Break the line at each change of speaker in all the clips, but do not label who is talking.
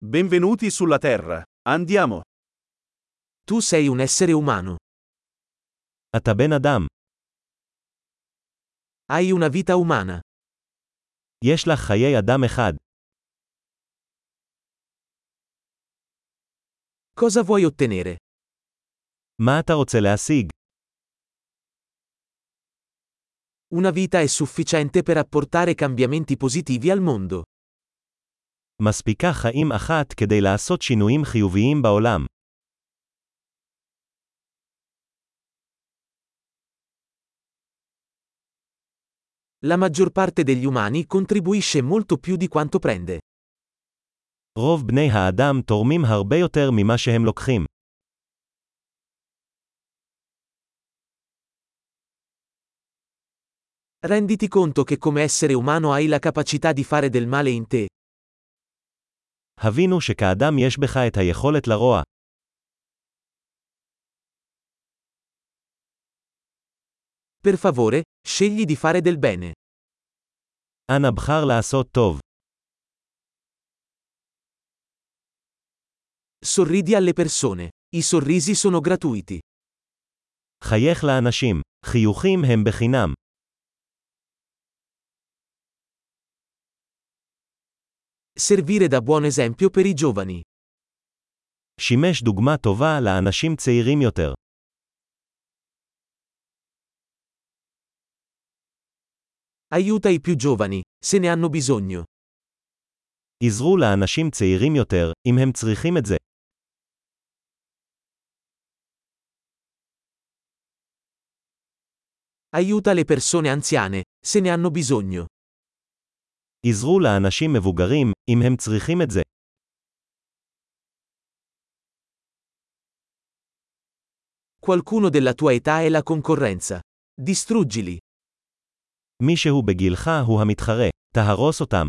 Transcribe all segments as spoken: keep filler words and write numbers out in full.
Benvenuti sulla Terra. Andiamo.
Tu sei un essere umano.
אתה בן אדם.
Hai una vita umana.
יש לך חיי אדם אחד.
Cosa vuoi ottenere?
מה אתה רוצה להשיג?
Una vita è sufficiente per apportare cambiamenti positivi al mondo.
מספיקה חיים אחת כדי לעשות שינויים חיוביים בעולם.
La maggior parte degli umani contribuisce molto più di quanto prende.
רוב בני האדם תורמים הרבה יותר ממה שהם לוקחים.
Renditi conto che come essere umano hai la capacità di fare del male in te.
הבינו שכאדם יש בך את היכולת לרוע.
Per favore, scegli di fare del bene.
אנא בחר לעשות טוב.
Sorridi alle persone. I sorrisi sono gratuiti.
חייך לאנשים. חיוכים הם בחינם.
Servire da buon esempio per i giovani.
שימש דוגמה טובה לאנשים צעירים יותר.
Aiuta i più giovani, se ne hanno bisogno.
עזרו לאנשים צעירים יותר, אם הם צריכים את זה.
Aiuta le persone anziane, se ne hanno bisogno.
עזרו לאנשים מבוגרים, אם הם צריכים את זה.
Qualcuno della tua età è la concorrenza. Distruggili.
מישהו בגילך הוא המתחרה. תהרוס אותם.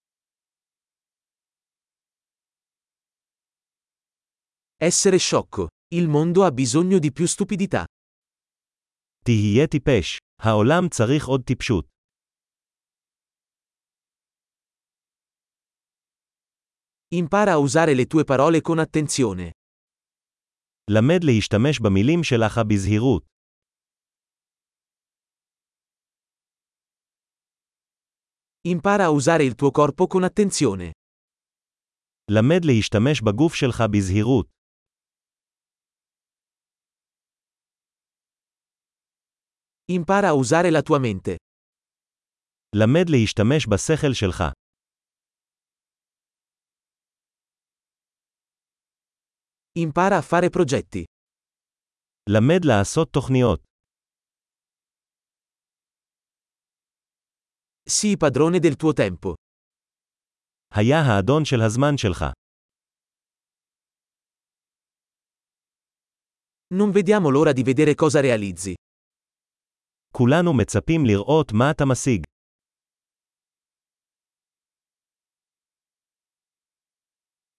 Essere sciocco. Il mondo ha bisogno di più stupidità.
תהיה טיפש. העולם צריך עוד טיפשות.
Impara a usare le tue parole con attenzione.
למד להשתמש במילים שלך בזהירות.
Impara a usare il tuo corpo con attenzione.
למד להשתמש בגוף שלך בזהירות.
Impara a usare la tua mente.
למד להשתמש בשכל שלך.
Impara a fare progetti.
למד לעשות תוכניות.
Sii padrone del tuo tempo.
היה האדון של הזמן שלך.
Non vediamo l'ora di vedere cosa realizzi.
כולנו מצפים לראות מה אתה משיג.